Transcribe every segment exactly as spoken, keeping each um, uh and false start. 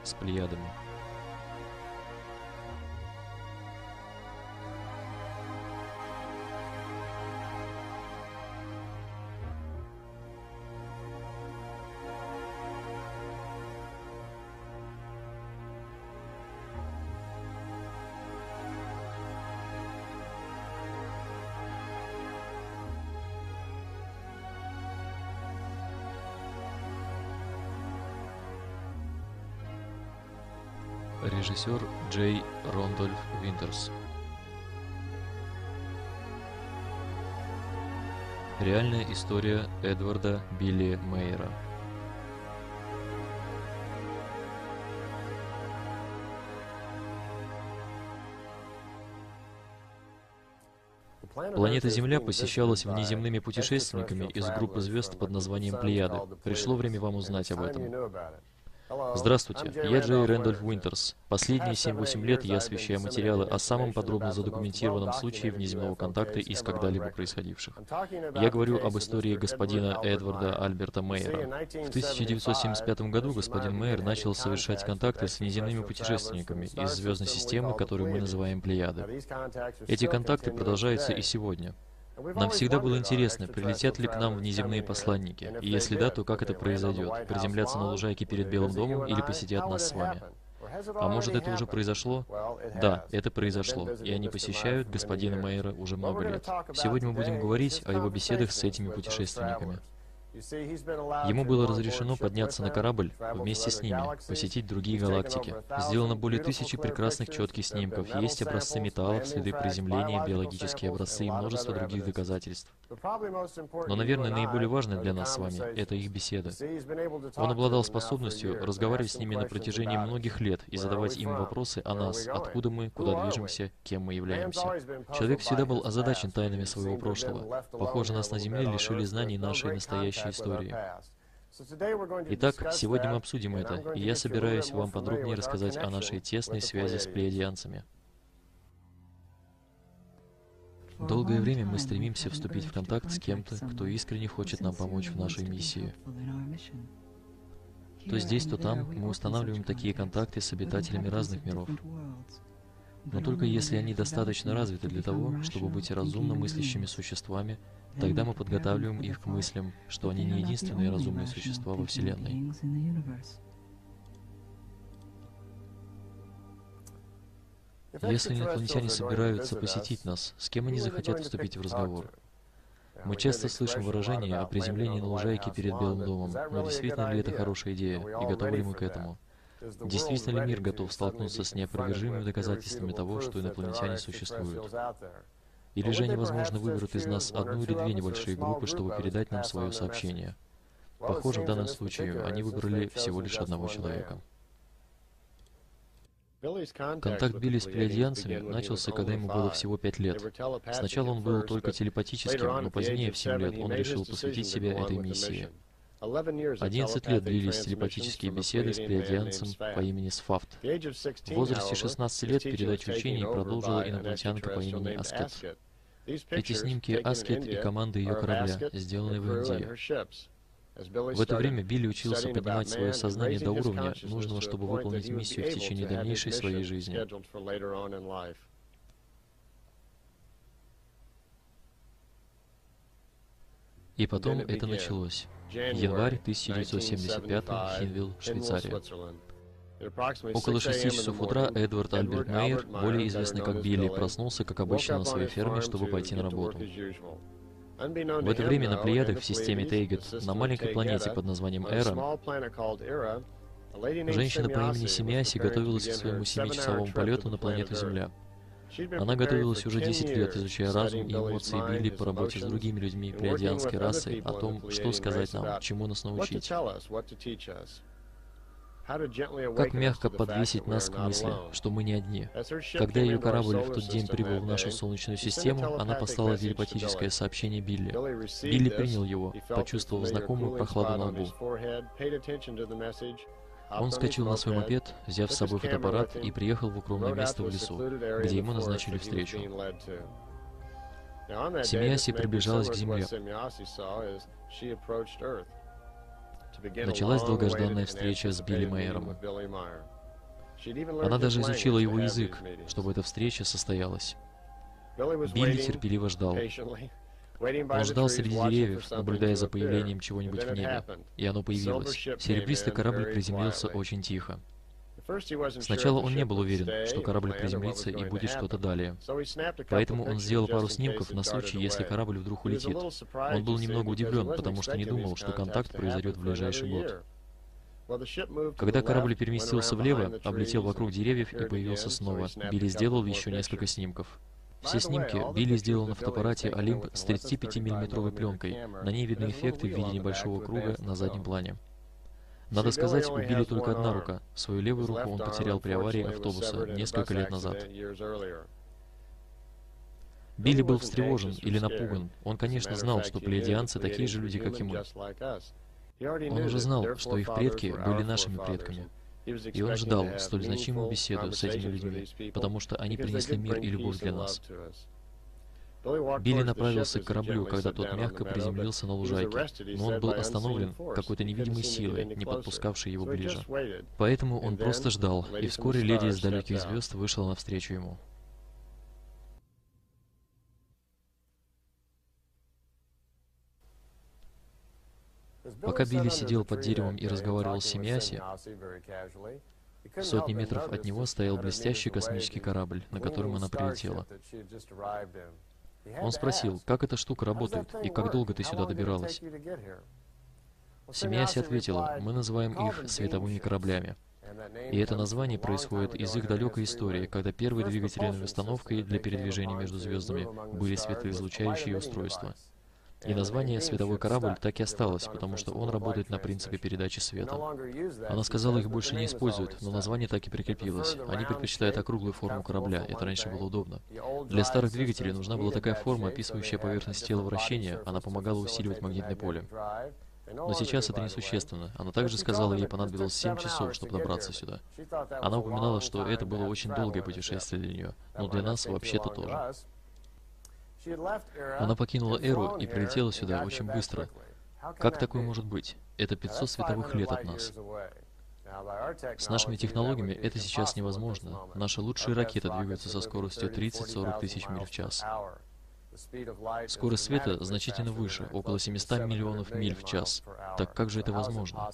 с Плеядами. Режиссер Джей Рондольф Винтерс. Реальная история Эдварда Билли Мейера. Планета Земля посещалась внеземными путешественниками из группы звезд под названием Плеяды. Пришло время вам узнать об этом. Здравствуйте, я Джей Рэндольф Уинтерс. Последние семь-восемь лет я освещаю материалы о самом подробно задокументированном случае внеземного контакта из когда-либо происходивших. Я говорю об истории господина Эдварда Альберта Мейера. В тысяча девятьсот семьдесят пятом году господин Мейер начал совершать контакты с внеземными путешественниками из звездной системы, которую мы называем Плеяды. Эти контакты продолжаются и сегодня. Нам всегда было интересно, прилетят ли к нам внеземные посланники, и если да, то как это произойдет? Приземлятся на лужайке перед Белым домом или посетят нас с вами? А может, это уже произошло? Да, это произошло, и они посещают господина Мейера уже много лет. Сегодня мы будем говорить о его беседах с этими путешественниками. Ему было разрешено подняться на корабль вместе с ними, посетить другие галактики. Сделано более тысячи прекрасных четких снимков, есть образцы металлов, следы приземления, биологические образцы и множество других доказательств. Но, наверное, наиболее важное для нас с вами — это их беседы. Он обладал способностью разговаривать с ними на протяжении многих лет и задавать им вопросы о нас, откуда мы, куда движемся, кем мы являемся. Человек всегда был озадачен тайнами своего прошлого. Похоже, нас на Земле лишили знаний нашей настоящей истории. Итак, сегодня мы обсудим это, и я собираюсь вам подробнее рассказать о нашей тесной связи с плеядианцами. Долгое время мы стремимся вступить в контакт с кем-то, кто искренне хочет нам помочь в нашей миссии. То здесь, то там мы устанавливаем такие контакты с обитателями разных миров. Но только если они достаточно развиты для того, чтобы быть разумно мыслящими существами, тогда мы подготавливаем их к мыслям, что они не единственные разумные существа во Вселенной. Если инопланетяне собираются посетить нас, с кем они захотят вступить в разговор? Мы часто слышим выражение о приземлении на лужайке перед Белым домом, но действительно ли это хорошая идея, и готовы ли мы к этому? Действительно ли мир готов столкнуться с неопровержимыми доказательствами того, что инопланетяне существуют? Или же они, возможно, выберут из нас одну или две небольшие группы, чтобы передать нам свое сообщение? Похоже, в данном случае они выбрали всего лишь одного человека. Контакт Билли с плеядианцами начался, когда ему было всего пять лет. Сначала он был только телепатическим, но позднее, в семь лет, он решил посвятить себя этой миссии. Одиннадцать лет длились телепатические беседы с плеядианцем по имени Сфафт. В возрасте шестнадцати лет передачу учений продолжила инопланетянка по имени Аскет. Эти снимки Аскет и команды ее корабля, сделаны в Индии. В это время Билли учился поднимать свое сознание до уровня, нужного, чтобы выполнить миссию в течение дальнейшей своей жизни. И потом это началось. Январь тысяча девятьсот семьдесят пятого, Хинвилл, Швейцария. Около шести часов утра Эдвард Альберт Мейер, более известный как Билли, проснулся, как обычно, на своей ферме, чтобы пойти на работу. В это время на Плеядах в системе Тейгет, на маленькой планете под названием Эра, женщина по имени Семиаси готовилась к своему семичасовому полету на планету Земля. Она готовилась уже десять лет, изучая разум и эмоции Билли по работе с другими людьми плеядианской расы, о том, что сказать нам, чему нас научить. Как мягко подвесить нас к мысли, что мы не одни. Когда ее корабль в тот день прибыл в нашу Солнечную систему, она послала телепатическое сообщение Билли. Билли принял его, почувствовав знакомую прохладу на лбу. Он вскочил на свой мопед, взяв с собой фотоаппарат, и приехал в укромное место в лесу, где ему назначили встречу. Семиаси приближалась к Земле. Началась долгожданная встреча с Билли Мейером. Она даже изучила его язык, чтобы эта встреча состоялась. Билли терпеливо ждал. Он ждал среди деревьев, наблюдая за появлением чего-нибудь в небе, и оно появилось. Серебристый корабль приземлился очень тихо. Сначала он не был уверен, что корабль приземлится и будет что-то далее. Поэтому он сделал пару снимков на случай, если корабль вдруг улетит. Он был немного удивлен, потому что не думал, что контакт произойдет в ближайший год. Когда корабль переместился влево, облетел вокруг деревьев и появился снова, Билли сделал еще несколько снимков. Все снимки Билли сделал на фотоаппарате Олимп с тридцатипятимиллиметровой пленкой. На ней видны эффекты в виде небольшого круга на заднем плане. Надо сказать, у Билли только одна рука. Свою левую руку он потерял при аварии автобуса несколько лет назад. Билли был встревожен или напуган. Он, конечно, знал, что плеядианцы такие же люди, как и мы. Он уже знал, что их предки были нашими предками. И он ждал столь значимую беседу с этими людьми, потому что они принесли мир и любовь для нас. Билли направился к кораблю, когда тот мягко приземлился на лужайке, но он был остановлен какой-то невидимой силой, не подпускавшей его ближе. Поэтому он просто ждал, и вскоре леди из далеких звезд вышла навстречу ему. Пока Билли сидел под деревом и разговаривал с Семиаси, в сотни метров от него стоял блестящий космический корабль, на котором она прилетела. Он спросил, как эта штука работает и как долго ты сюда добиралась. Семиаси ответила, мы называем их световыми кораблями. И это название происходит из их далекой истории, когда первой двигательной установкой для передвижения между звездами были светоизлучающие устройства. И название «световой корабль» так и осталось, потому что он работает на принципе передачи света. Она сказала, их больше не используют, но название так и прикрепилось. Они предпочитают округлую форму корабля, это раньше было удобно. Для старых двигателей нужна была такая форма, описывающая поверхность тела вращения, она помогала усиливать магнитное поле. Но сейчас это несущественно. Она также сказала, ей понадобилось семь часов, чтобы добраться сюда. Она упоминала, что это было очень долгое путешествие для нее, но для нас вообще-то тоже. Она покинула Эру и прилетела сюда очень быстро. Как такое может быть? Это пятьсот световых лет от нас. С нашими технологиями это сейчас невозможно. Наши лучшие ракеты двигаются со скоростью тридцать-сорок тысяч миль в час. Скорость света значительно выше, около семисот миллионов миль в час. Так как же это возможно?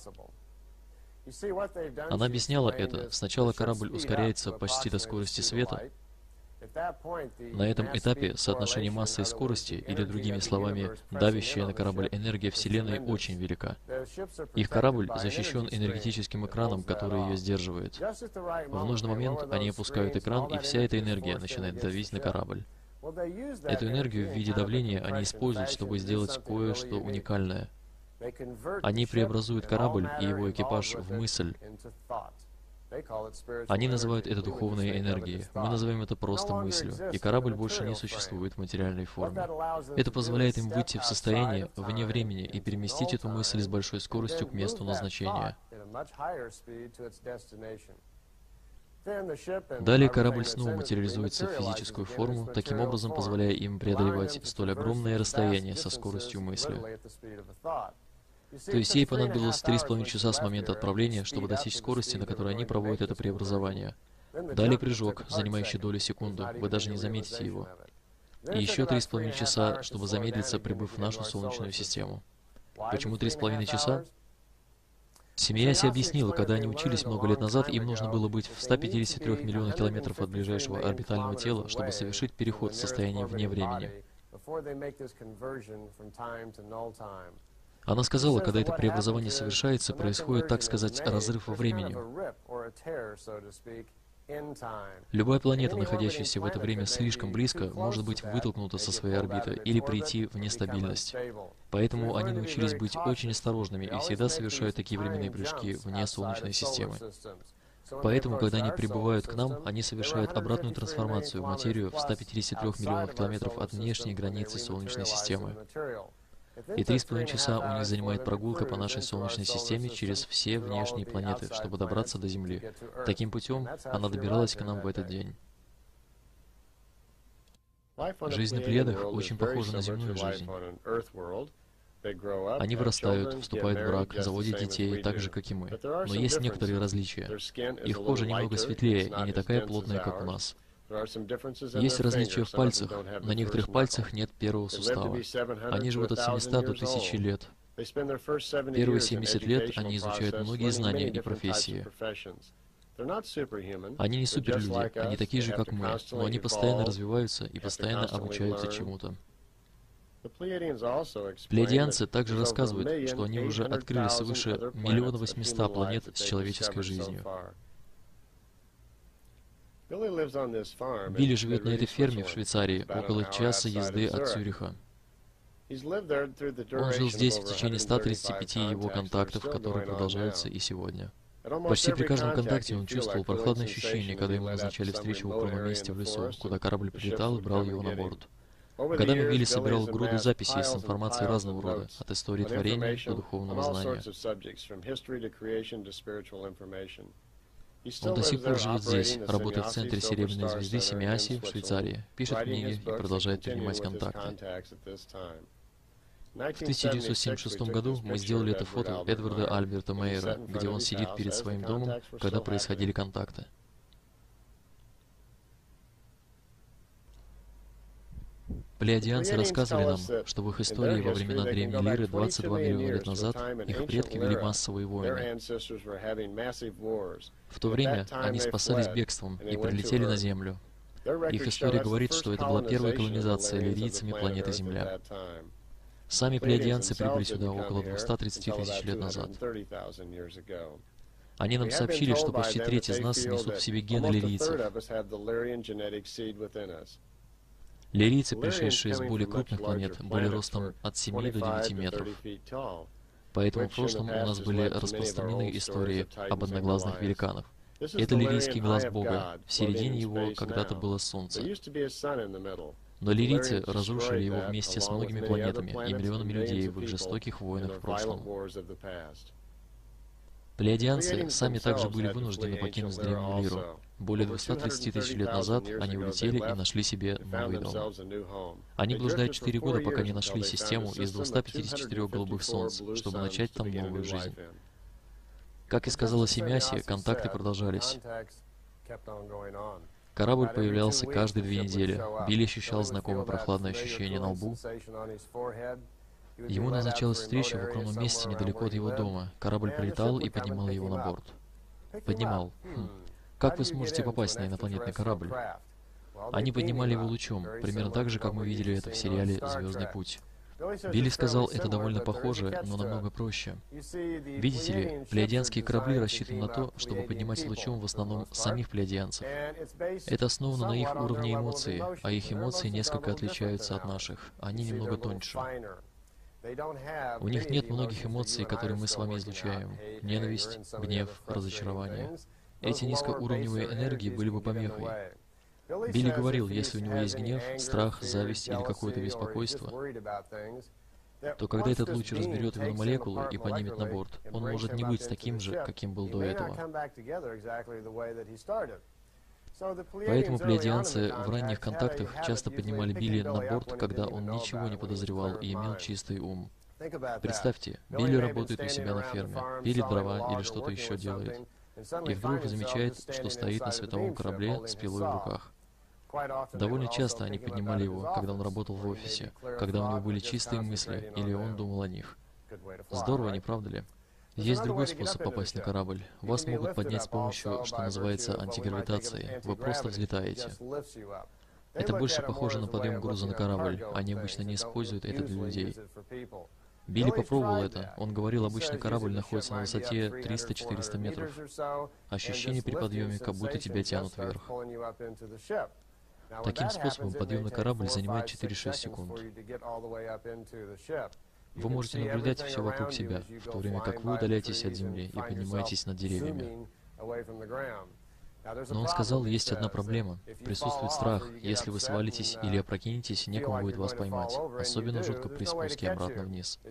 Она объясняла это. Сначала корабль ускоряется почти до скорости света. На этом этапе соотношение массы и скорости, или другими словами, давящая на корабль энергия Вселенной, очень велика. Их корабль защищен энергетическим экраном, который ее сдерживает. В нужный момент они опускают экран, и вся эта энергия начинает давить на корабль. Эту энергию в виде давления они используют, чтобы сделать кое-что уникальное. Они преобразуют корабль и его экипаж в мысль. Они называют это духовной энергией. Мы называем это просто мыслью. И корабль больше не существует в материальной форме. Это позволяет им выйти в состояние вне времени и переместить эту мысль с большой скоростью к месту назначения. Далее корабль снова материализуется в физическую форму, таким образом позволяя им преодолевать столь огромное расстояние со скоростью мысли. То есть ей понадобилось три с половиной часа с момента отправления, чтобы достичь скорости, на которой они проводят это преобразование. Далее прыжок, занимающий долю секунды, вы даже не заметите его. И еще три с половиной часа, чтобы замедлиться, прибыв в нашу Солнечную систему. Почему три с половиной часа? Семиаси объяснила, когда они учились много лет назад, им нужно было быть в ста пятидесяти трёх миллионах километров от ближайшего орбитального тела, чтобы совершить переход в состояние вне времени. Она сказала, когда это преобразование совершается, происходит, так сказать, разрыв во времени. Любая планета, находящаяся в это время слишком близко, может быть вытолкнута со своей орбиты или прийти в нестабильность. Поэтому они научились быть очень осторожными и всегда совершают такие временные прыжки вне Солнечной системы. Поэтому, когда они прибывают к нам, они совершают обратную трансформацию в материю в ста пятидесяти трёх миллионах километров от внешней границы Солнечной системы. И три с половиной часа у них занимает прогулка по нашей Солнечной системе через все внешние планеты, чтобы добраться до Земли. Таким путем она добиралась к нам в этот день. Жизнь на Плеядах очень похожа на земную жизнь. Они вырастают, вступают в брак, заводят детей, так же, как и мы. Но есть некоторые различия. Их кожа немного светлее и не такая плотная, как у нас. Есть различия в пальцах. На некоторых пальцах нет первого сустава. Они живут от семисот до тысячи лет. Первые семьдесят лет они изучают многие знания и профессии. Они не суперлюди, они такие же, как мы, но они постоянно развиваются и постоянно обучаются чему-то. Плеядианцы также рассказывают, что они уже открыли свыше миллиона восьмисот планет с человеческой жизнью. Билли живет на этой ферме в Швейцарии, около часа езды от Цюриха. Он жил здесь в течение ста тридцати пяти его контактов, которые продолжаются и сегодня. Почти при каждом контакте он чувствовал прохладное ощущение, когда ему назначали встречу в укромном месте в лесу, куда корабль прилетал и брал его на борт. Годами Билли собирал груды записей с информацией разного рода, от истории творения до духовного знания. Он до сих пор живет здесь, работает в центре Серебряной звезды Семиаси в Швейцарии, пишет книги и продолжает принимать контакты. В тысяча девятьсот семьдесят шестом году мы сделали это фото Эдварда Альберта Мейера, где он сидит перед своим домом, когда происходили контакты. Плеядианцы рассказывали нам, что в их истории во времена Древней Лиры двадцать два миллиона лет назад их предки вели массовые войны. В то время они спасались бегством и прилетели на Землю. Их история говорит, что это была первая колонизация лирийцами планеты Земля. Сами плеядианцы прибыли сюда около двухсот тридцати тысяч лет назад. Они нам сообщили, что почти треть из нас несут в себе гены лирийцев. Лирийцы, пришедшие с более крупных планет, были ростом от семи до девяти метров. Поэтому в прошлом у нас были распространены истории об одноглазных великанах. Это лирийский глаз Бога. В середине его когда-то было Солнце. Но лирийцы разрушили его вместе с многими планетами и миллионами людей в их жестоких войнах в прошлом. Плеядианцы сами также были вынуждены покинуть Древнюю Лиру. Более двухсот тридцати тысяч лет назад они улетели и нашли себе новый дом. Они блуждают четыре года, пока не нашли систему из двухсот пятидесяти четырёх голубых солнц, чтобы начать там новую жизнь. Как и сказала Семиаси, контакты продолжались. Корабль появлялся каждые две недели. Билли ощущал знакомое прохладное ощущение на лбу. Ему назначалась встреча в укромном месте недалеко от его дома. Корабль прилетал и поднимал его на борт. Поднимал. Хм. Как вы сможете попасть на инопланетный корабль? Они поднимали его лучом, примерно так же, как мы видели это в сериале «Звездный путь». Билли сказал, это довольно похоже, но намного проще. Видите ли, плеядианские корабли рассчитаны на то, чтобы поднимать лучом в основном самих плеядианцев. Это основано на их уровне эмоций, а их эмоции несколько отличаются от наших. Они немного тоньше. У них нет многих эмоций, которые мы с вами излучаем. Ненависть, гнев, разочарование. Эти низкоуровневые энергии были бы помехой. Билли говорил, если у него есть гнев, страх, зависть или какое-то беспокойство, то когда этот луч разберет его на молекулы и поднимет на борт, он может не быть таким же, каким был до этого. Поэтому плеядианцы в ранних контактах часто поднимали Билли на борт, когда он ничего не подозревал и имел чистый ум. Представьте, Билли работает у себя на ферме, пилит дрова или что-то еще делает, и вдруг замечает, что стоит на световом корабле с пилой в руках. Довольно часто они поднимали его, когда он работал в офисе, когда у него были чистые мысли, или он думал о них. Здорово, не правда ли? Есть другой способ попасть на корабль. Вас могут поднять с помощью, что называется, антигравитацией. Вы просто взлетаете. Это больше похоже на подъем груза на корабль. Они обычно не используют это для людей. Билли попробовал это. Он говорил, обычный корабль находится на высоте триста-четыреста метров. Ощущение при подъеме, как будто тебя тянут вверх. Таким способом подъем на корабль занимает четыре-шесть секунд. Вы можете наблюдать все вокруг себя, в то время как вы удаляетесь от земли и поднимаетесь над деревьями. Но он сказал, есть одна проблема. Присутствует страх. Если вы свалитесь или опрокинетесь, некому будет вас поймать. Особенно жутко при спуске обратно вниз.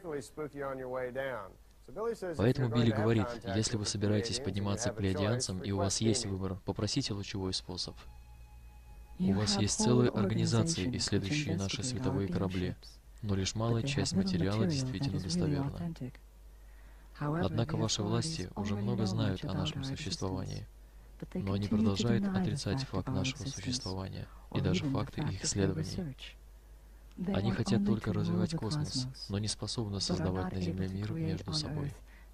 Поэтому Билли говорит, если вы собираетесь подниматься к плеядианцам и у вас есть выбор, попросите лучевой способ. У вас есть целые организации, исследующие наши световые корабли. но лишь малая часть материала действительно достоверна. Однако ваши власти уже много знают о нашем существовании, но они продолжают отрицать факт нашего существования и даже факты их исследований. Они хотят только развивать космос, но не способны создавать на Земле мир между собой.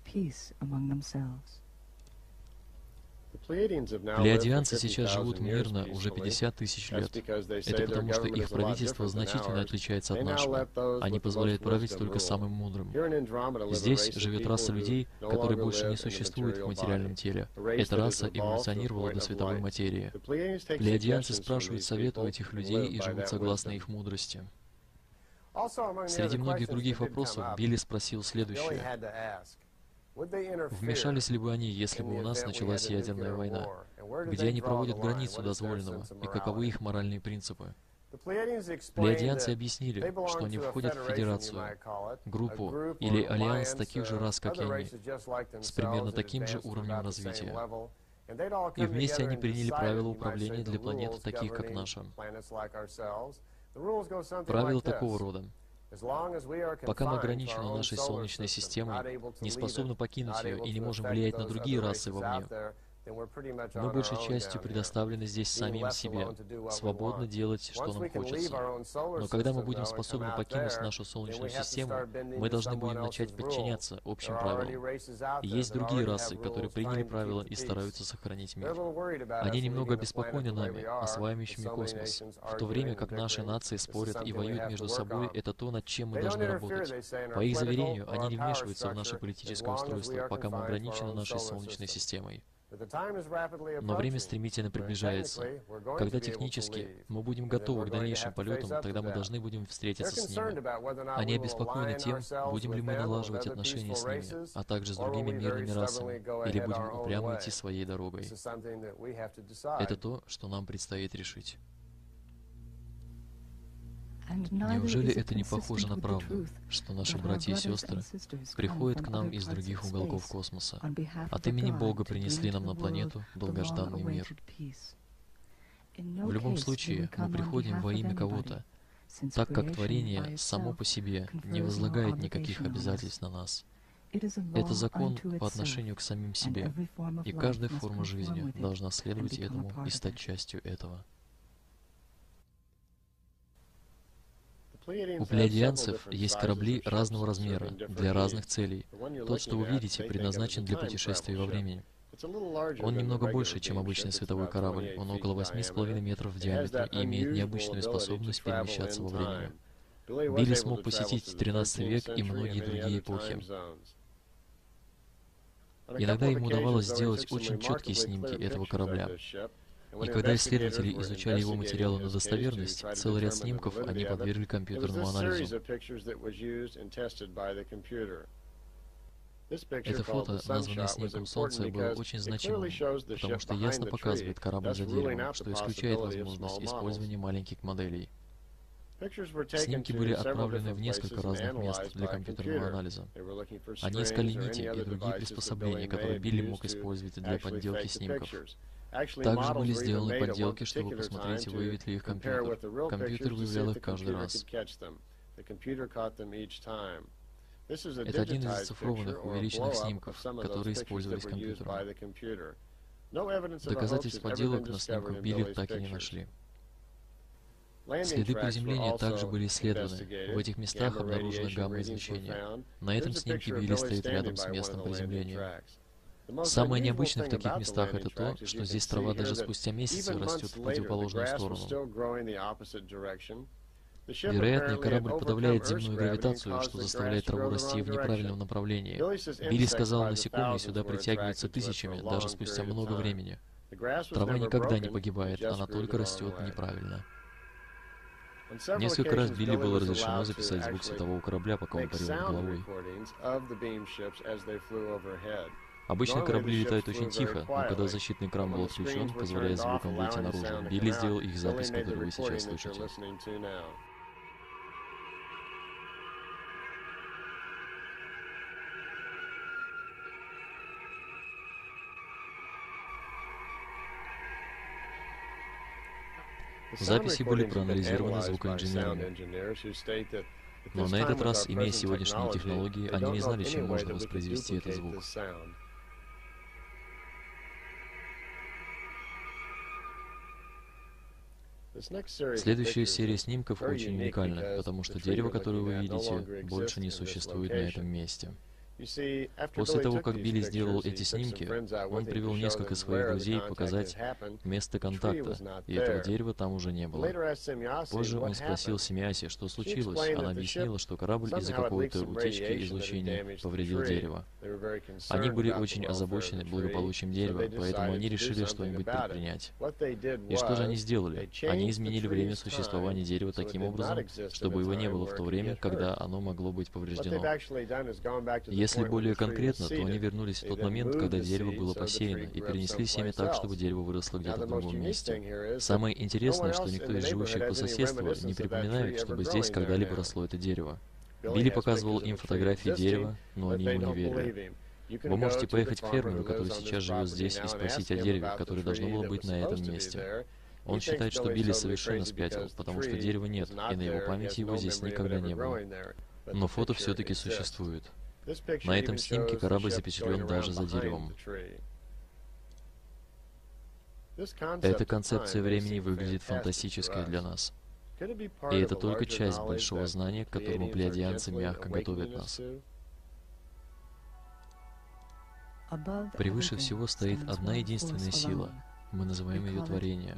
Плеядианцы сейчас живут мирно уже пятьдесят тысяч лет. Это потому, что их правительство значительно отличается от нашего. Они позволяют править только самым мудрым. Здесь живет раса людей, которые больше не существуют в материальном теле. Эта раса эволюционировала до световой материи. Плеядианцы спрашивают совет у этих людей и живут согласно их мудрости. Среди многих других вопросов Билли спросил следующее. Вмешались ли бы они, если бы у нас началась ядерная война? Где они проводят границу дозволенного? И каковы их моральные принципы? Плеядианцы объяснили, что они входят в федерацию, группу или альянс таких же рас, как и они, с примерно таким же уровнем развития. И вместе они приняли правила управления для планет, таких как наша. Правила такого рода. Пока мы ограничены нашей Солнечной системой, не способны покинуть ее и не можем влиять на другие расы вовне, мы большей частью предоставлены здесь самим себе, свободно делать, что нам хочется. Но когда мы будем способны покинуть нашу Солнечную систему, мы должны будем начать подчиняться общим правилам. И есть другие расы, которые приняли правила и стараются сохранить мир. Они немного обеспокоены нами, осваивающими космос, в то время как наши нации спорят и воюют между собой. Это то, над чем мы должны работать. По их заверению, они не вмешиваются в наше политическое устройство, пока мы ограничены нашей Солнечной системой. Но время стремительно приближается. Когда технически мы будем готовы к дальнейшим полетам, тогда мы должны будем встретиться с ними. Они обеспокоены тем, будем ли мы налаживать отношения с ними, а также с другими мирными расами, или будем упрямо идти своей дорогой. Это то, что нам предстоит решить. Неужели это не похоже на правду, что наши братья и сестры приходят к нам из других уголков космоса, от имени Бога принесли нам на планету долгожданный мир? В любом случае, мы приходим во имя кого-то, так как творение само по себе не возлагает никаких обязательств на нас. Это закон по отношению к самим себе, и каждая форма жизни должна следовать этому и стать частью этого. У плеядианцев есть корабли разного размера, для разных целей. Тот, что вы видите, предназначен для путешествий во времени. Он немного больше, чем обычный световой корабль. Он около восьми с половиной метров в диаметре и имеет необычную способность перемещаться во времени. Билли смог посетить тринадцатый век и многие другие эпохи. Иногда ему удавалось сделать очень четкие снимки этого корабля. И когда исследователи изучали его материалы на достоверность, целый ряд снимков они подвергли компьютерному анализу. Это фото, названное снимком Солнца, было очень значимым, потому что ясно показывает корабль за деревом, что исключает возможность использования маленьких моделей. Снимки были отправлены в несколько разных мест для компьютерного анализа. Они искали нити и другие приспособления, которые Билли мог использовать для подделки снимков. Также были сделаны подделки, чтобы посмотреть, выявит ли их компьютер. Компьютер выявлял их каждый раз. Это один из оцифрованных, увеличенных снимков, которые использовались компьютером. Доказательств подделок на снимках Билли так и не нашли. Следы приземления также были исследованы. В этих местах обнаружено гамма-излучение. На этом снимке Билли стоит рядом с местом приземления. Самое необычное в таких местах это то, что здесь трава даже спустя месяцы растет в противоположную сторону. Вероятно, корабль подавляет земную гравитацию, что заставляет траву расти в неправильном направлении. Билли сказал, насекомые сюда притягиваются тысячами, даже спустя много времени. Трава никогда не погибает, она только растет неправильно. Несколько раз Билли было разрешено записать звук светового корабля, пока он парил над головой. Обычно корабли летают очень тихо, но когда защитный экран был отключен, позволяя звукам выйти наружу, Билли сделал их запись, которую вы сейчас слышите. Записи были проанализированы звукоинженерами. Но на этот раз, имея сегодняшние технологии, они не знали, чем можно воспроизвести этот звук. Следующая серия снимков очень уникальна, потому что дерево, которое вы видите, больше не существует на этом месте. После того, как Билли сделал эти снимки, он привел несколько своих друзей показать место контакта, и этого дерева там уже не было. Позже он спросил Семиаси, что случилось. Она объяснила, что корабль из-за какой-то утечки излучения повредил дерево. Они были очень озабочены благополучием дерева, поэтому они решили что-нибудь предпринять. И что же они сделали? Они изменили время существования дерева таким образом, чтобы его не было в то время, когда оно могло быть повреждено. Если более конкретно, то они вернулись в тот момент, когда дерево было посеяно, и перенесли семя так, чтобы дерево выросло где-то в другом месте. Самое интересное, что никто из живущих по соседству не припоминает, чтобы здесь когда-либо росло это дерево. Билли показывал им фотографии дерева, но они ему не верили. Вы можете поехать к фермеру, который сейчас живет здесь, и спросить о дереве, которое должно было быть на этом месте. Он считает, что Билли совершенно спятил, потому что дерева нет, и на его памяти его здесь никогда не было. Но фото все-таки существует. На этом снимке корабль запечатлен даже за деревом. Эта концепция времени выглядит фантастической для нас. И это только часть большого знания, к которому плеядианцы мягко готовят нас. Превыше всего стоит одна единственная сила. Мы называем ее творение.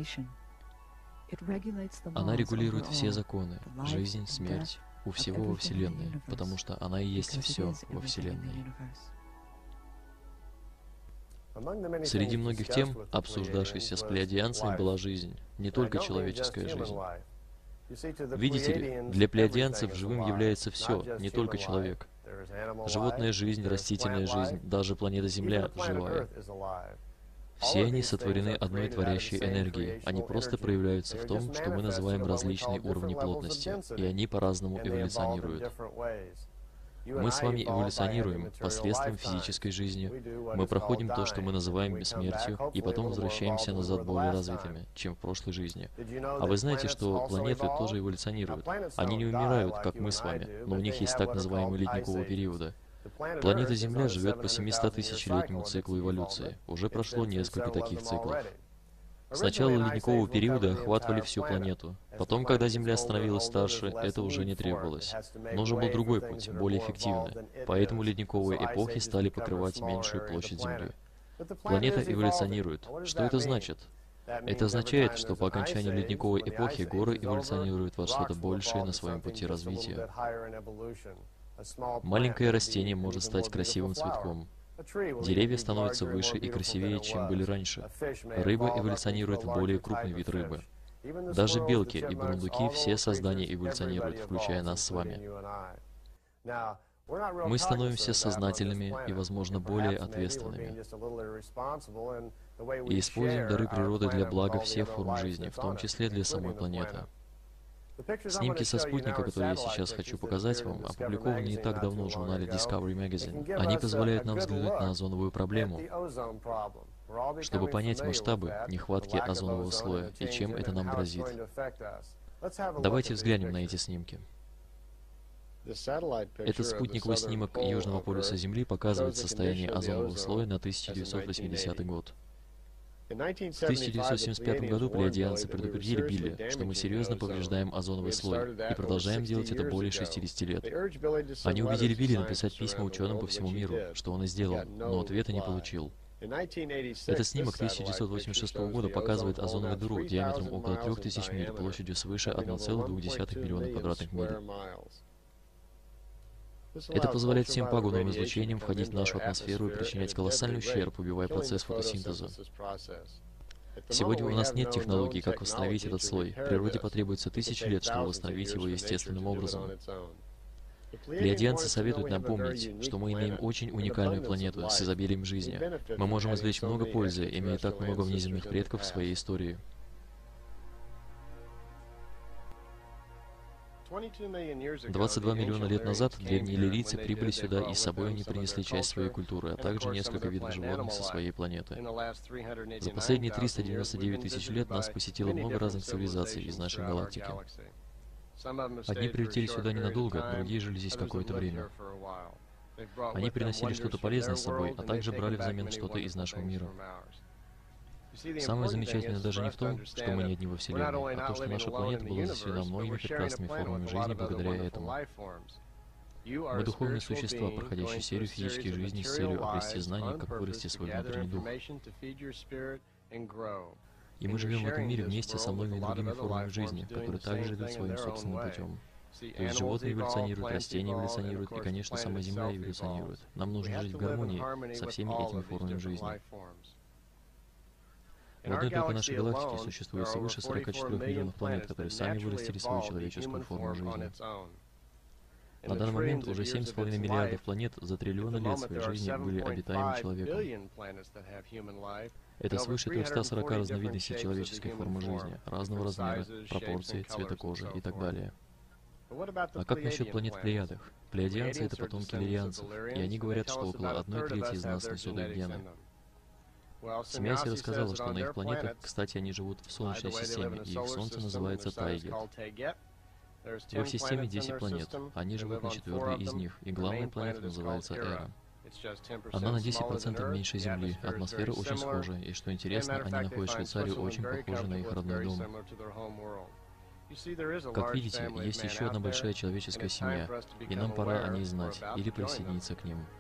Она регулирует все законы, жизнь, смерть, у всего во Вселенной, потому что она и есть все во Вселенной. Среди многих тем, обсуждавшихся с плеядианцами, была жизнь, не только человеческая жизнь. Видите ли, для плеядианцев живым является все, не только человек. Животная жизнь, растительная жизнь, даже планета Земля живая. Все они сотворены одной творящей энергией. Они просто проявляются в том, что мы называем различные уровни плотности, и они по-разному эволюционируют. Мы с вами эволюционируем посредством физической жизни. Мы проходим то, что мы называем смертью, и потом возвращаемся назад более развитыми, чем в прошлой жизни. А вы знаете, что планеты тоже эволюционируют? Они не умирают, как мы с вами, но у них есть так называемый ледниковый период. Планета Земля живет по семистотысячелетнему циклу эволюции. Уже прошло несколько таких циклов. Сначала ледникового периода охватывали всю планету. Потом, когда Земля становилась старше, это уже не требовалось. Нужен был другой путь, более эффективный. Поэтому ледниковые эпохи стали покрывать меньшую площадь Земли. Планета эволюционирует. Что это значит? Это означает, что по окончанию ледниковой эпохи горы эволюционируют во что-то большее на своем пути развития. Маленькое растение может стать красивым цветком. Деревья становятся выше и красивее, чем были раньше. Рыба эволюционирует в более крупный вид рыбы. Даже белки и бурундуки, все создания эволюционируют, включая нас с вами. Мы становимся сознательными и, возможно, более ответственными. И используем дары природы для блага всех форм жизни, в том числе для самой планеты. Снимки со спутника, которые я сейчас хочу показать вам, опубликованы не так давно в журнале Discovery Magazine. Они позволяют нам взглянуть на озоновую проблему, чтобы понять масштабы нехватки озонового слоя и чем это нам грозит. Давайте взглянем на эти снимки. Этот спутниковый снимок Южного полюса Земли показывает состояние озонового слоя на тысяча девятьсот восьмидесятый год. В тысяча девятьсот семьдесят пятом году плеядианцы предупредили Билли, что мы серьезно повреждаем озоновый слой, и продолжаем делать это более шестидесяти лет. Они убедили Билли написать письма ученым по всему миру, что он и сделал, но ответа не получил. Этот снимок тысяча девятьсот восемьдесят шестого года показывает озоновую дыру диаметром около трёх тысяч миль, площадью свыше одного целых двух десятых миллиона квадратных миль. Это позволяет всем пагубным излучениям входить в нашу атмосферу и причинять колоссальный ущерб, убивая процесс фотосинтеза. Сегодня у нас нет технологий, как восстановить этот слой. Природе потребуется тысячи лет, чтобы восстановить его естественным образом. Плеядианцы советуют нам помнить, что мы имеем очень уникальную планету с изобилием жизни. Мы можем извлечь много пользы, имея так много внеземных предков в своей истории. двадцать два миллиона лет назад древние иллирийцы прибыли сюда, и с собой они принесли часть своей культуры, а также несколько видов животных со своей планеты. За последние триста девяносто девять тысяч лет нас посетило много разных цивилизаций из нашей галактики. Одни прилетели сюда ненадолго, другие жили здесь какое-то время. Они приносили что-то полезное с собой, а также брали взамен что-то из нашего мира. Самое замечательное даже не в том, что мы не одни во Вселенной, а то, что наша планета была заселена многими прекрасными формами жизни благодаря этому. Мы духовные существа, проходящие серию физических жизней с целью обрести знания, как вырасти свой внутренний дух. И мы живем в этом мире вместе со многими другими формами жизни, которые также идут своим собственным путем. То есть животные эволюционируют, растения эволюционируют, и, конечно, сама Земля эволюционирует. Нам нужно жить в гармонии со всеми этими формами жизни. В одной только нашей галактике существует свыше сорока четырёх миллионов планет, которые сами вырастили свою человеческую форму жизни. На данный момент уже семь с половиной миллиардов планет за триллионы лет своей жизни были обитаемы человеком. Это свыше трёхсот сорока разновидностей человеческой формы жизни, разного размера, пропорций, цвета кожи и так далее. А как насчет планет в Плеядах? Плеядианцы — это потомки лирианцев, и они говорят, что около одной трети из нас несут их гены. Семьяси рассказала, что на их планетах, кстати, они живут в Солнечной системе, и их Солнце называется Тайгет. В их системе десять планет, они живут на четвертой из них, и главная планета называется Эра. Она на десять процентов меньше Земли, атмосфера очень схожая, и что интересно, они находят Швейцарию очень похожей на их родной дом. Как видите, есть еще одна большая человеческая семья, и нам пора о ней знать или присоединиться к ним.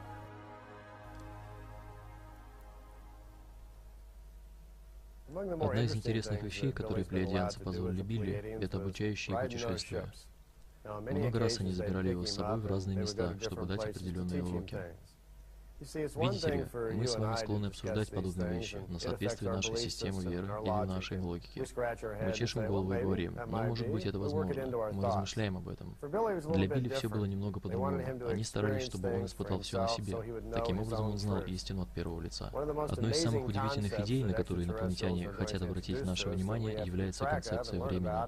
Одна из интересных вещей, которые плеядианцы позволили Билли, это обучающие путешествия. Много раз они забирали его с собой в разные места, чтобы дать определенные уроки. Видите ли, мы с вами склонны обсуждать подобные вещи на соответствие нашей системы веры или нашей логики. Мы чешем голову и говорим, ну, может быть, это возможно. Мы размышляем об этом. Для Билли все было немного по-другому. Они старались, чтобы он испытал все на себе. Таким образом, он знал истину от первого лица. Одной из самых удивительных идей, на которые инопланетяне хотят обратить наше внимание, является концепция времени.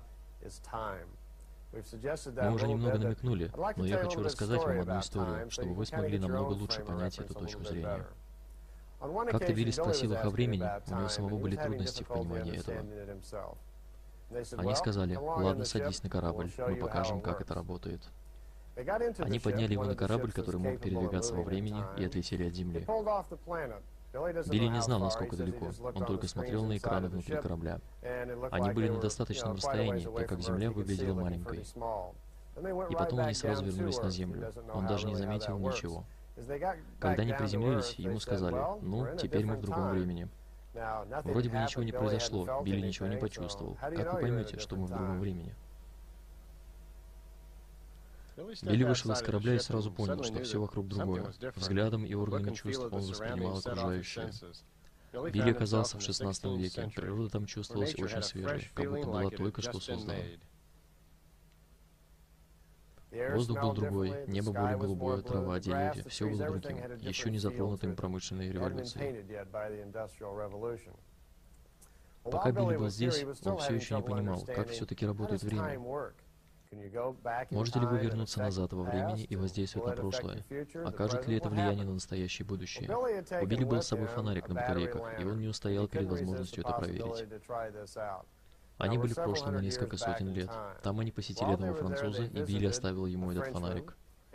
Мы уже немного намекнули, но я хочу рассказать вам одну историю, чтобы вы смогли намного лучше понять эту точку зрения. Как-то Билли спросил их о времени, у него самого были трудности в понимании этого. Они сказали, ладно, садись на корабль, мы покажем, как это работает. Они подняли его на корабль, который мог передвигаться во времени, и отлетели от Земли. Билли не знал, насколько далеко, он только смотрел на экраны внутри корабля. Они были на достаточном расстоянии, так как Земля выглядела маленькой. И потом они сразу вернулись на Землю. Он даже не заметил ничего. Когда они приземлились, ему сказали, ну, теперь мы в другом времени. Вроде бы ничего не произошло, Билли ничего не почувствовал. Как вы поймете, что мы в другом времени? Билли вышел из корабля и сразу понял, что все вокруг другое. Взглядом и органами чувств он воспринимал окружающее. Билли оказался в шестнадцатом веке. Природа там чувствовалась очень свежей, как будто была только что создана. Воздух был другой, небо более голубое, трава, деревья, все было другим, еще не затронутым промышленной революцией. Пока Билли был здесь, он все еще не понимал, как все-таки работает время. Можете ли вы вернуться назад во времени и воздействовать на прошлое? Окажет ли это влияние на настоящее и будущее? У Билли был с собой фонарик на батарейках, и он не устоял перед возможностью это проверить. Они были в прошлом на несколько сотен лет. Там они посетили одного француза, и Билли оставил ему этот фонарик.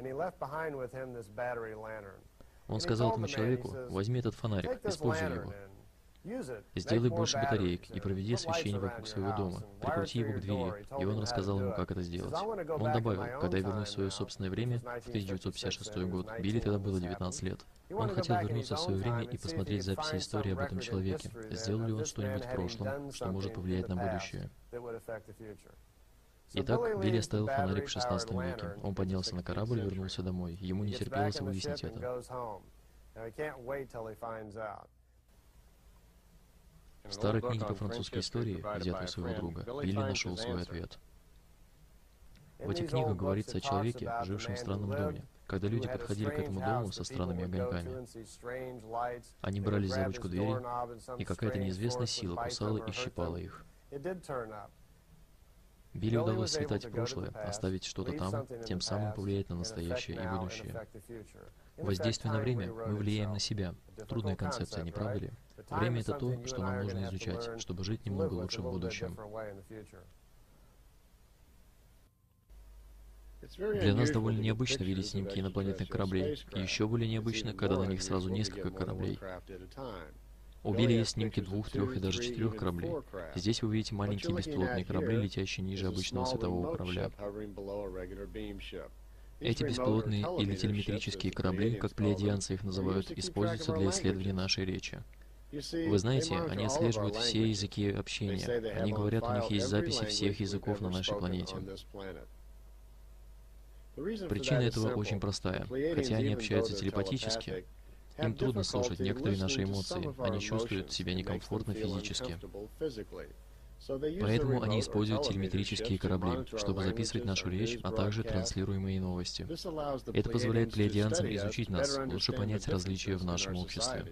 Он сказал этому человеку, возьми этот фонарик, используй его. Сделай больше батареек и проведи освещение вокруг своего дома. Прикрути его к двери, и он рассказал ему, как это сделать. Он добавил, когда я вернусь в свое собственное время, в тысяча девятьсот пятьдесят шестой год, Билли тогда было девятнадцать лет. Он хотел вернуться в свое время и посмотреть записи истории об этом человеке. Сделал ли он что-нибудь в прошлом, что может повлиять на будущее? Итак, Билли оставил фонарик в шестнадцатом веке. Он поднялся на корабль и вернулся домой. Ему не терпелось выяснить это. В старой книге по французской истории, взятой у своего друга, Билли нашел свой ответ. В этих книгах говорится о человеке, жившем в странном доме. Когда люди подходили к этому дому со странными огоньками, они брались за ручку двери, и какая-то неизвестная сила кусала и щипала их. Билли удалось слетать в прошлое, оставить что-то там, тем самым повлиять на настоящее и будущее. Воздействие на время мы влияем на себя. Трудная концепция, не правда ли? Время — это то, что нам нужно изучать, чтобы жить немного лучше в будущем. Для нас довольно необычно видеть снимки инопланетных кораблей, и еще более необычно, когда на них сразу несколько кораблей. У Билли есть снимки двух, трех и даже четырех кораблей. Здесь вы видите маленькие беспилотные корабли, летящие ниже обычного светового корабля. Эти беспилотные или телеметрические корабли, как плеядианцы их называют, используются для исследования нашей речи. Вы знаете, они отслеживают все языки общения. Они говорят, у них есть записи всех языков на нашей планете. Причина этого очень простая. Хотя они общаются телепатически, им трудно слушать некоторые наши эмоции, они чувствуют себя некомфортно физически. Поэтому они используют телеметрические корабли, чтобы записывать нашу речь, а также транслируемые новости. Это позволяет плеядианцам изучить нас, лучше понять различия в нашем обществе.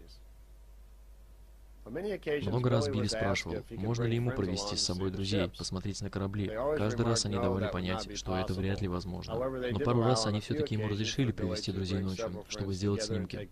Много раз Билли спрашивал, можно ли ему провести с собой друзей, посмотреть на корабли. Каждый раз они давали понять, что это вряд ли возможно. Но пару раз они все-таки ему разрешили привести друзей ночью, чтобы сделать снимки.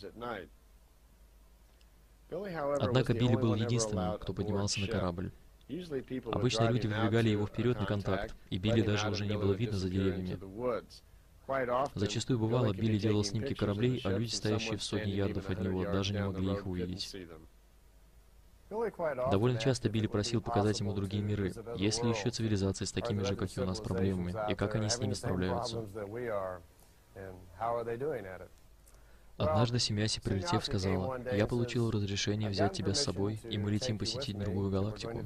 Однако Билли был единственным, кто поднимался на корабль. Обычно люди выдвигали его вперед на контакт, и Билли даже уже не было видно за деревьями. Зачастую бывало, Билли делал снимки кораблей, а люди, стоящие в сотни ярдов от него, даже не могли их увидеть. Довольно часто Билли просил показать ему другие миры, есть ли еще цивилизации с такими же, как и у нас, проблемами, и как они с ними справляются. Однажды Семяси, прилетев, сказала, «Я получил разрешение взять тебя с собой, и мы летим посетить другую галактику.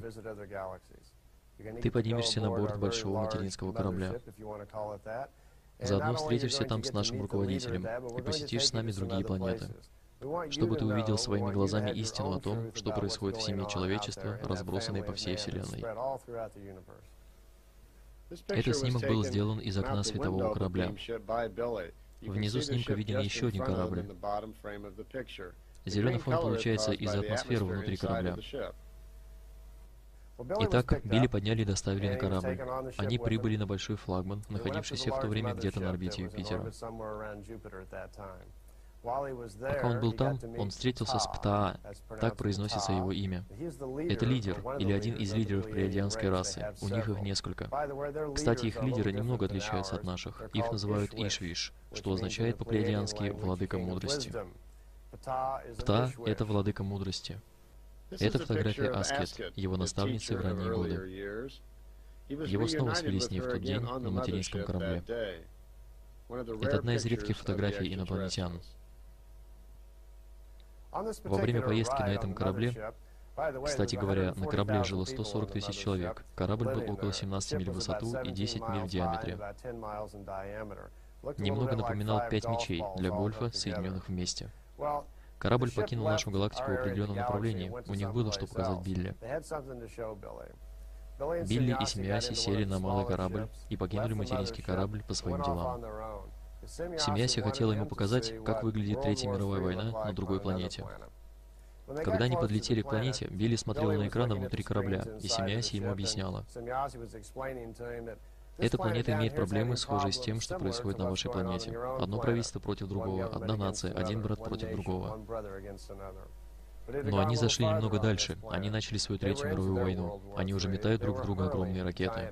Ты поднимешься на борт большого материнского корабля. Заодно встретишься там с нашим руководителем и посетишь с нами другие планеты, чтобы ты увидел своими глазами истину о том, что происходит в семье человечества, разбросанной по всей Вселенной». Этот снимок был сделан из окна светового корабля. Внизу снимка виден еще один корабль. Зеленый фон получается из-за атмосферы внутри корабля. Итак, Билли подняли и доставили на корабль. Они прибыли на большой флагман, находившийся в то время где-то на орбите Юпитера. Пока он был там, он встретился с Птаа, так произносится его имя. Это лидер, или один из лидеров плеядианской расы, у них их несколько. Кстати, их лидеры немного отличаются от наших, их называют Ишвиш, что означает по-плеядиански «владыка мудрости». Птаа — это владыка мудрости. Это фотография Аскет, его наставницы в ранние годы. Его снова свели с ней в тот день на материнском корабле. Это одна из редких фотографий инопланетян. Во время поездки на этом корабле, кстати говоря, на корабле жило сто сорок тысяч человек. Корабль был около семнадцати миль в высоту и десяти миль в диаметре. Немного напоминал пять мячей для гольфа, соединенных вместе. Корабль покинул нашу галактику в определенном направлении. У них было что показать Билли. Билли и Семяси сели на малый корабль и покинули материнский корабль по своим делам. Семяси хотела ему показать, как выглядит Третья мировая война на другой планете. Когда они подлетели к планете, Билли смотрел на экраны внутри корабля, и Семяси ему объясняла. Эта планета имеет проблемы, схожие с тем, что происходит на вашей планете. Одно правительство против другого, одна нация, один брат против другого. Но они зашли немного дальше. Они начали свою Третью мировую войну. Они уже метают друг в друга огромные ракеты.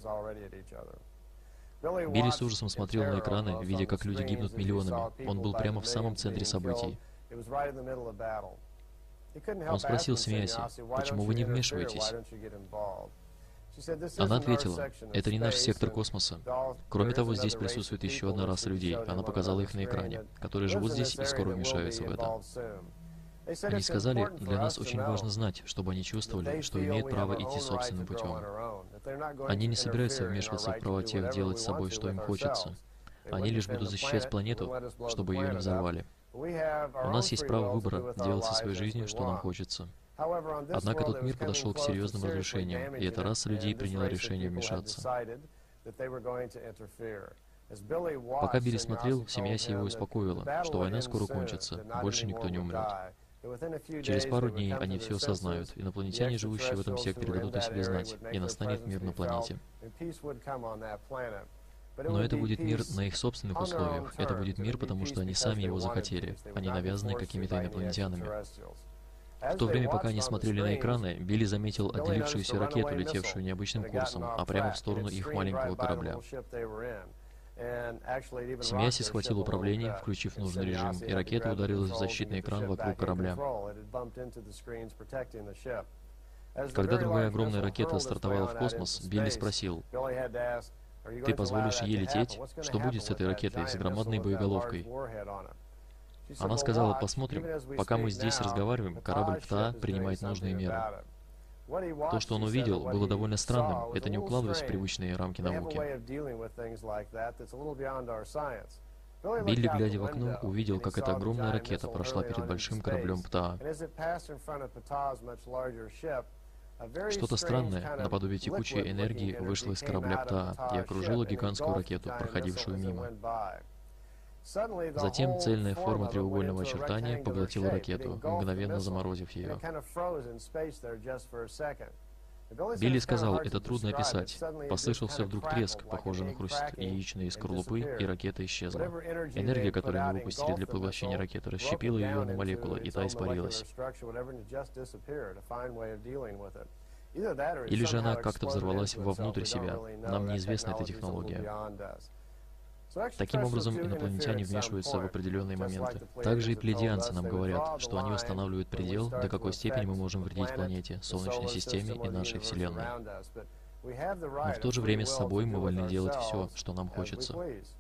Билли с ужасом смотрел на экраны, видя, как люди гибнут миллионами. Он был прямо в самом центре событий. Он спросил Семяси, «Почему вы не вмешиваетесь?» Она ответила, «Это не наш сектор космоса. Кроме того, здесь присутствует еще одна раса людей, она показала их на экране, которые живут здесь и скоро вмешаются в это». Они сказали, «Для нас очень важно знать, чтобы они чувствовали, что имеют право идти собственным путем. Они не собираются вмешиваться в права тех делать с собой, что им хочется. Они лишь будут защищать планету, чтобы ее не взорвали. У нас есть право выбора делать со своей жизнью, что нам хочется». Однако тот мир подошел к серьезным разрушениям, и эта раса людей приняла решение вмешаться. Пока Билли смотрел, Семяси его успокоила, что война скоро кончится, больше никто не умрет. Через пару дней они все осознают, инопланетяне, живущие в этом секторе, дадут о себе знать, и настанет мир на планете. Но это будет мир на их собственных условиях. Это будет мир, потому что они сами его захотели, а не навязанный какими-то инопланетянами. В то время, пока они смотрели на экраны, Билли заметил отделившуюся ракету, летевшую необычным курсом, а прямо в сторону их маленького корабля. Семьяси схватил управление, включив нужный режим, и ракета ударилась в защитный экран вокруг корабля. Когда другая огромная ракета стартовала в космос, Билли спросил: «Ты позволишь ей лететь? Что будет с этой ракетой, с громадной боеголовкой?» Она сказала: «Посмотрим. Пока мы здесь разговариваем, корабль ПТА принимает нужные меры». То, что он увидел, было довольно странным. Это не укладывалось в привычные рамки науки. Билли, глядя в окно, увидел, как эта огромная ракета прошла перед большим кораблем ПТА. Что-то странное, наподобие текучей энергии, вышло из корабля ПТА и окружило гигантскую ракету, проходившую мимо. Затем цельная форма треугольного очертания поглотила ракету, мгновенно заморозив ее. Билли сказал: «Это трудно описать». Послышался вдруг треск, похожий на хруст яичной скорлупы, и ракета исчезла. Энергия, которую мы выпустили для поглощения ракеты, расщепила ее на молекулы, и та испарилась. Или же она как-то взорвалась вовнутрь себя. Нам неизвестна эта технология. Таким образом, инопланетяне вмешиваются в определенные моменты. Также и плеядианцы нам говорят, что они устанавливают предел, до какой степени мы можем вредить планете, Солнечной системе и нашей Вселенной. Но в то же время с собой мы вольны делать все, что нам хочется.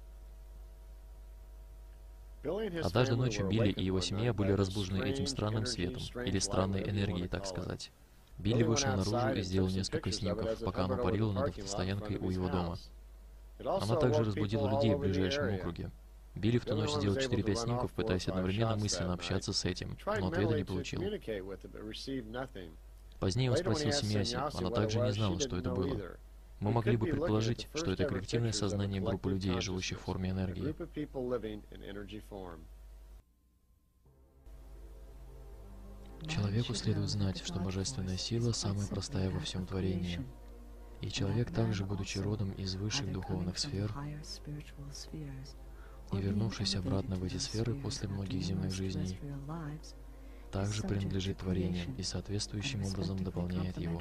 Однажды ночью Билли и его семья были разбужены этим странным светом, или странной энергией, так сказать. Билли вышел наружу и сделал несколько снимков, пока оно парило над автостоянкой у его дома. Она также разбудила людей в ближайшем округе. Билли в ту ночь сделал четыре-пять снимков, пытаясь одновременно мысленно общаться с этим, но ответа не получил. Позднее он спросил Семьяси, она также не знала, что это было. Мы могли бы предположить, что это коллективное сознание группы людей, живущих в форме энергии. Человеку следует знать, что божественная сила самая простая во всем творении. И человек также, будучи родом из высших духовных сфер и вернувшись обратно в эти сферы после многих земных жизней, также принадлежит творению и соответствующим образом дополняет его.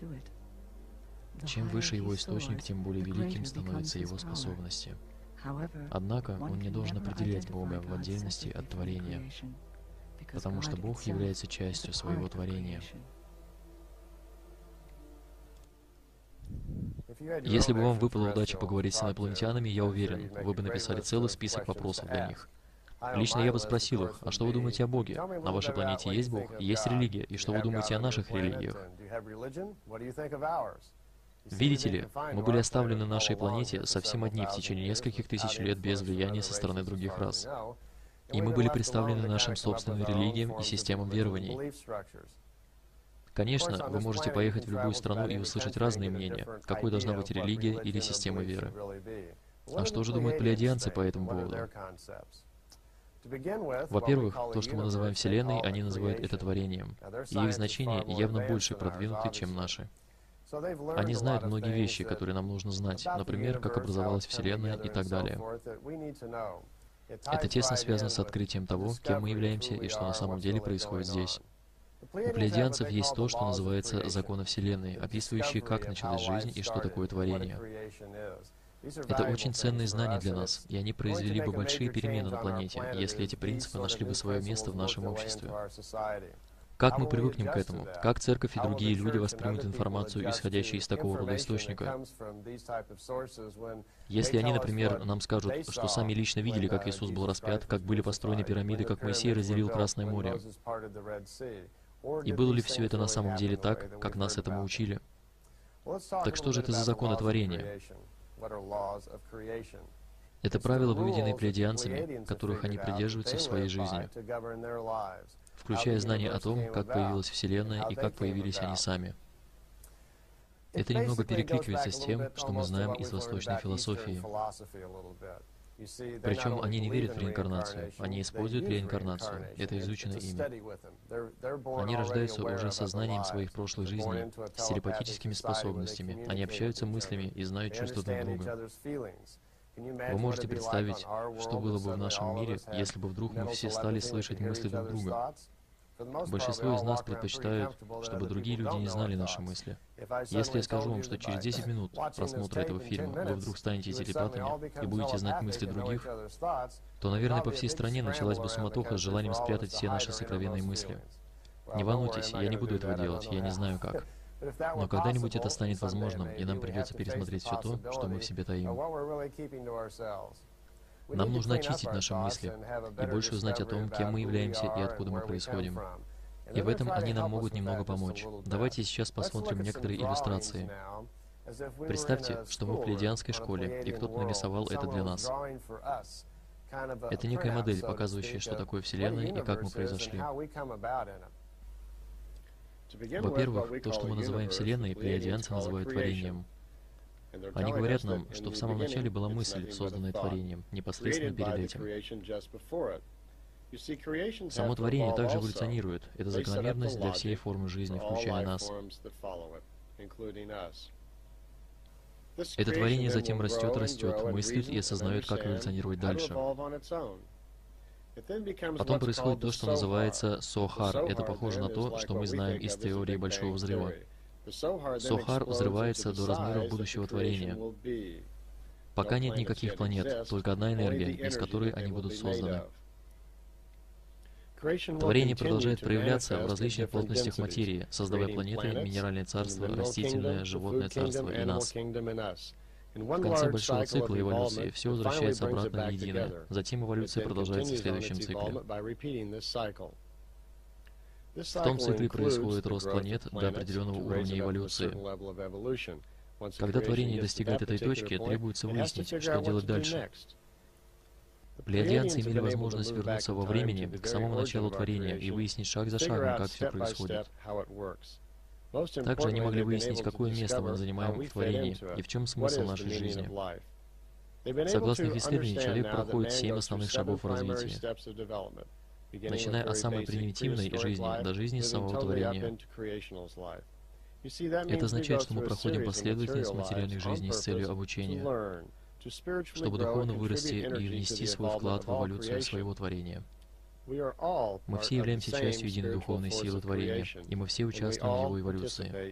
Чем выше его источник, тем более великим становятся его способности. Однако он не должен определять Бога в отдельности от творения, потому что Бог является частью своего творения. Если бы вам выпала удача поговорить с инопланетянами, я уверен, вы бы написали целый список вопросов для них. Лично я бы спросил их: а что вы думаете о Боге? На вашей планете есть Бог? Есть религия? И что вы думаете о наших религиях? Видите ли, мы были оставлены на нашей планете совсем одни в течение нескольких тысяч лет без влияния со стороны других рас. И мы были представлены нашим собственным религиям и системам верований. Конечно, вы можете поехать в любую страну и услышать разные мнения, какой должна быть религия или система веры. А что же думают плеядианцы по этому поводу? Во-первых, то, что мы называем Вселенной, они называют это творением, и их значения явно больше продвинуты, чем наши. Они знают многие вещи, которые нам нужно знать, например, как образовалась Вселенная и так далее. Это тесно связано с открытием того, кем мы являемся и что на самом деле происходит здесь. У плеядианцев есть то, что называется законы Вселенной, описывающие, как началась жизнь и что такое творение. Это очень ценные знания для нас, и они произвели бы большие перемены на планете, если эти принципы нашли бы свое место в нашем обществе. Как мы привыкнем к этому? Как церковь и другие люди воспримут информацию, исходящую из такого рода источника? Если они, например, нам скажут, что сами лично видели, как Иисус был распят, как были построены пирамиды, как Моисей разделил Красное море, и было ли все это на самом деле так, как нас этому учили? Так что же это за законы творения? Это правила, выведенные плеядианцами, которых они придерживаются в своей жизни, включая знания о том, как появилась Вселенная и как появились они сами. Это немного перекликивается с тем, что мы знаем из восточной философии. Причем они не верят в реинкарнацию, они используют реинкарнацию, это изучено ими. Они рождаются уже сознанием своих прошлых жизней, с телепатическими способностями, они общаются мыслями и знают чувства друг друга. Вы можете представить, что было бы в нашем мире, если бы вдруг мы все стали слышать мысли друг друга? Большинство из нас предпочитают, чтобы другие люди не знали наши мысли. Если я скажу вам, что через десять минут просмотра этого фильма вы вдруг станете телепатами и будете знать мысли других, то, наверное, по всей стране началась бы суматоха с желанием спрятать все наши сокровенные мысли. Не волнуйтесь, я не буду этого делать, я не знаю как. Но когда-нибудь это станет возможным, и нам придется пересмотреть все то, что мы в себе таим. Нам нужно очистить наши мысли и больше узнать о том, кем мы являемся и откуда мы происходим. И в этом они нам могут немного помочь. Давайте сейчас посмотрим некоторые иллюстрации. Представьте, что мы в плейадианской школе, и кто-то нарисовал это для нас. Это некая модель, показывающая, что такое Вселенная и как мы произошли. Во-первых, то, что мы называем Вселенной, плейадианцы называют творением. Они говорят нам, что в самом начале была мысль, созданная творением, непосредственно перед этим. Само творение также эволюционирует. Это закономерность для всей формы жизни, включая нас. Это творение затем растет, растет, мыслит и осознает, как эволюционировать дальше. Потом происходит то, что называется Сохар. Это похоже на то, что мы знаем из теории Большого Взрыва. Сохар взрывается до размеров будущего творения. Пока нет никаких планет, только одна энергия, из которой они будут созданы. Творение продолжает проявляться в различных плотностях материи, создавая планеты, минеральное царство, растительное, животное царство и нас. В конце большого цикла эволюции все возвращается обратно в единое. Затем эволюция продолжается в следующем цикле. В том цикле происходит рост планет до определенного уровня эволюции. Когда творение достигает этой точки, требуется выяснить, что делать дальше. Плейадианцы имели возможность вернуться во времени к самому началу творения и выяснить шаг за шагом, как все происходит. Также они могли выяснить, какое место мы занимаем в творении и в чем смысл нашей жизни. Согласно их исследованиям, человек проходит семь основных шагов в развитии, начиная от самой примитивной жизни до жизни самого творения. Это означает, что мы проходим последовательность материальных жизней с целью обучения, чтобы духовно вырасти и внести свой вклад в эволюцию своего творения. Мы все являемся частью единой духовной силы творения, и мы все участвуем в его эволюции.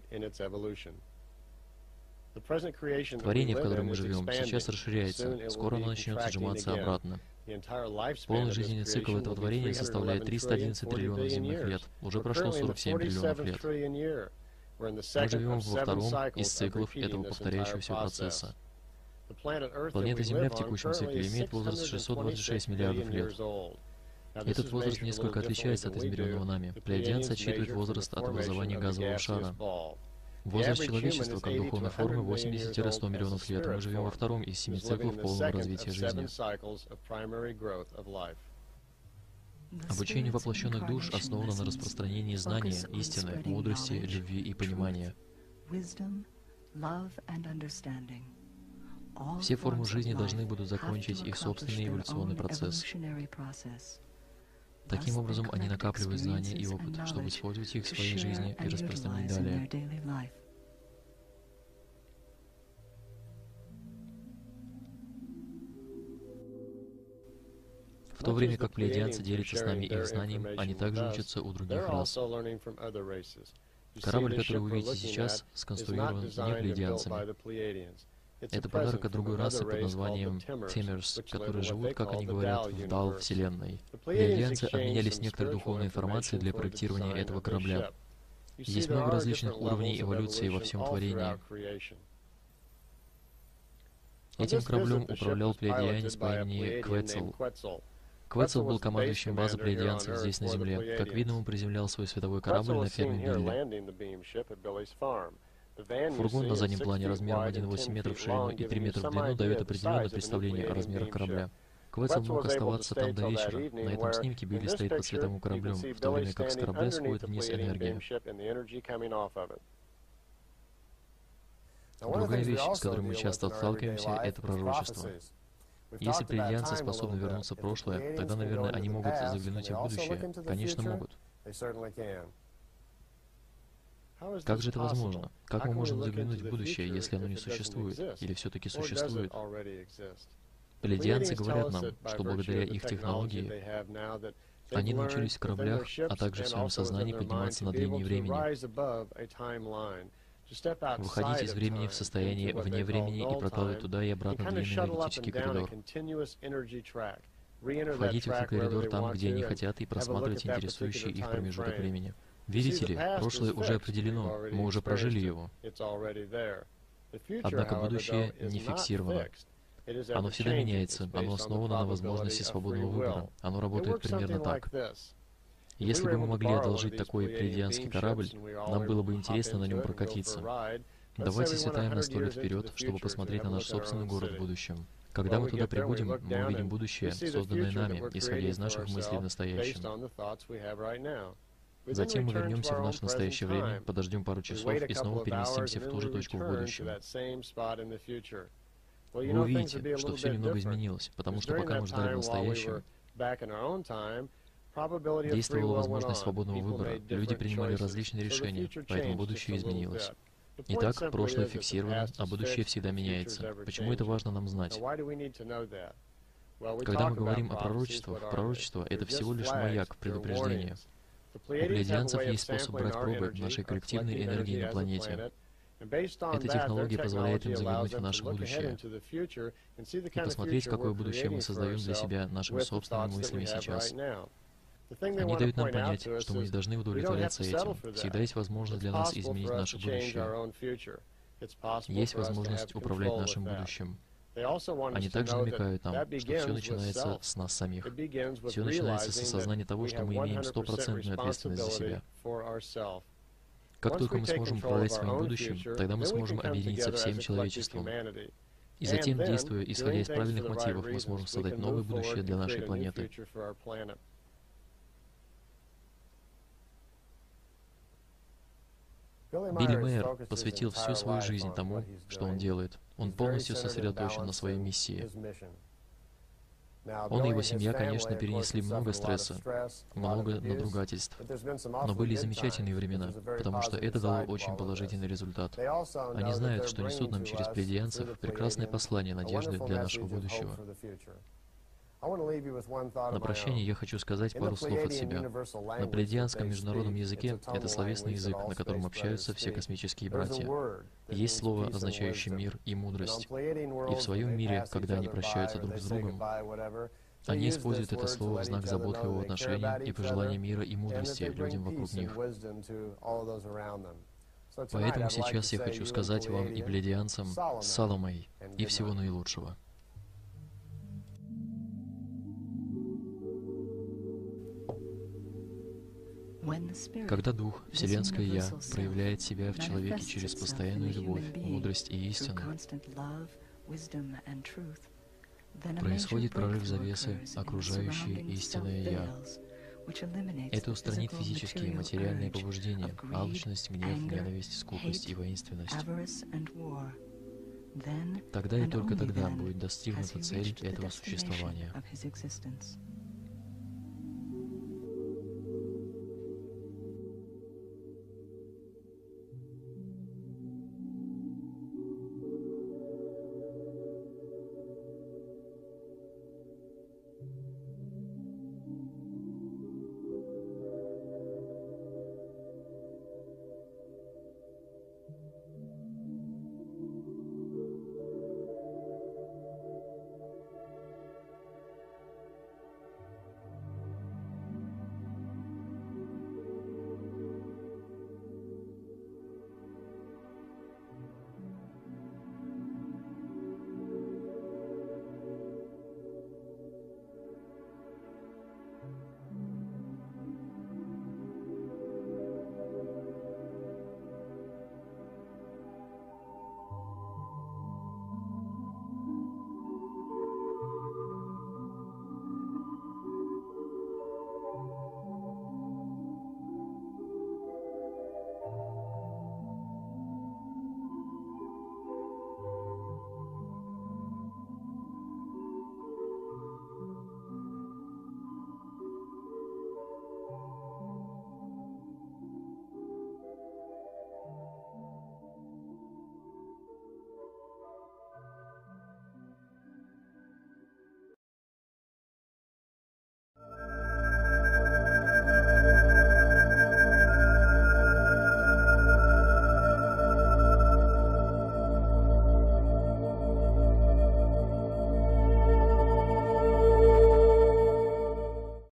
Творение, в котором мы живем, сейчас расширяется, скоро оно начнет сжиматься обратно. Полный жизненный цикл этого творения составляет триста одиннадцать триллионов земных лет. Уже прошло сорок семь триллионов лет. Мы живем во втором из циклов этого повторяющегося процесса. Планета Земля в текущем цикле имеет возраст шестьсот двадцать шесть миллиардов лет. Этот возраст несколько отличается от измеренного нами. Плейадианцы отсчитывают возраст от образования газового шара. Возраст человечества как духовной формы восемьдесят-сто миллионов лет. Мы живем во втором из семи циклов полного развития жизни. Обучение воплощенных душ основано на распространении знания, истины, мудрости, любви и понимания. Все формы жизни должны будут закончить их собственный эволюционный процесс. Таким образом, они накапливают знания и опыт, чтобы использовать их в своей жизни и распространить далее. В то время как плейадианцы делятся с нами их знанием, они также учатся у других рас. Корабль, который вы видите сейчас, сконструирован не плейадианцами. Это подарок от другой расы под названием Темерс, которые живут, как они говорят, в дал Вселенной. Плейадианцы обменялись некоторой духовной информацией для проектирования этого корабля. Есть много различных уровней эволюции во всем творении. Этим кораблем управлял плейадианец по имени Квецл. Квецл был командующим базы плейадианцев здесь, на Земле. Как видно, он приземлял свой световой корабль на ферме Билли. Фургон на заднем плане размером один целых восемь десятых метров в ширину и три метра в длину дает определенное представление о размерах корабля. Квецл мог оставаться там до вечера. На этом снимке Билли стоит под световым кораблем, в то время как с корабля сходит вниз энергия. Другая вещь, с которой мы часто сталкиваемся, это пророчество. Если плейадианцы способны вернуться в прошлое, тогда, наверное, они могут заглянуть и в будущее. Конечно, могут. Как же это возможно? Как мы можем заглянуть в будущее, если оно не существует? Или все-таки существует? Плейадианцы говорят нам, что благодаря их технологии Они научились в кораблях, а также в своем сознании подниматься над линией времени, выходить из времени в состояние вне времени и прокладывать туда и обратно длинный энергетический коридор. Входить в этот коридор там, где они хотят, и просматривать интересующий их промежуток времени. Видите ли, прошлое уже определено, мы уже прожили его. Однако будущее не фиксировано. Оно всегда меняется, оно основано на возможности свободного выбора. Оно работает примерно так. Если бы мы могли одолжить такой плейадианский корабль, нам было бы интересно на нем прокатиться. Давайте слетаем на сто лет вперед, чтобы посмотреть на наш собственный город в будущем. Когда мы туда прибудем, мы увидим будущее, созданное нами, исходя из наших мыслей в настоящем. Затем мы вернемся в наше настоящее время, подождем пару часов и снова переместимся в ту же точку в будущем. Вы увидите, что все немного изменилось, потому что пока мы ждали в настоящем, действовала возможность свободного выбора, люди принимали различные решения, поэтому будущее изменилось. Итак, прошлое фиксировано, а будущее всегда меняется. Почему это важно нам знать? Когда мы говорим о пророчествах, пророчество — это всего лишь маяк, предупреждение. У плейадианцев есть способ брать пробы нашей коллективной энергии на планете. Эта технология позволяет им заглянуть в наше будущее и посмотреть, какое будущее мы создаем для себя нашими собственными мыслями сейчас. Они дают нам понять, что мы не должны удовлетворяться этим. Всегда есть возможность для нас изменить наше будущее. Есть возможность управлять нашим будущим. Они также намекают нам, что все начинается с нас самих. Все начинается с осознания того, что мы имеем стопроцентную ответственность за себя. Как только мы сможем управлять своим будущим, тогда мы сможем объединиться всем человечеством. И затем, действуя, исходя из правильных мотивов, мы сможем создать новое будущее для нашей планеты. Билли Мейер посвятил всю свою жизнь тому, что он делает. Он полностью сосредоточен на своей миссии. Он и его семья, конечно, перенесли много стресса, много надругательств. Но были замечательные времена, потому что это дало очень положительный результат. Они знают, что несут нам через плейадианцев прекрасное послание надежды для нашего будущего. На прощание я хочу сказать пару слов от себя. На плейадианском международном языке это словесный язык, на котором общаются все космические братья. Есть слово, означающее мир и мудрость. И в своем мире, когда они прощаются друг с другом, они используют это слово в знак заботливого отношения и пожелания мира и мудрости людям вокруг них. Поэтому сейчас я хочу сказать вам и плейадианцам «Саломай» и всего наилучшего. Когда Дух, Вселенское Я, проявляет себя в человеке через постоянную любовь, мудрость и истину, происходит прорыв завесы, окружающей истинное Я. Это устранит физические и материальные побуждения, алчность, гнев, ненависть, скупость и воинственность. Тогда и только тогда будет достигнута цель этого существования.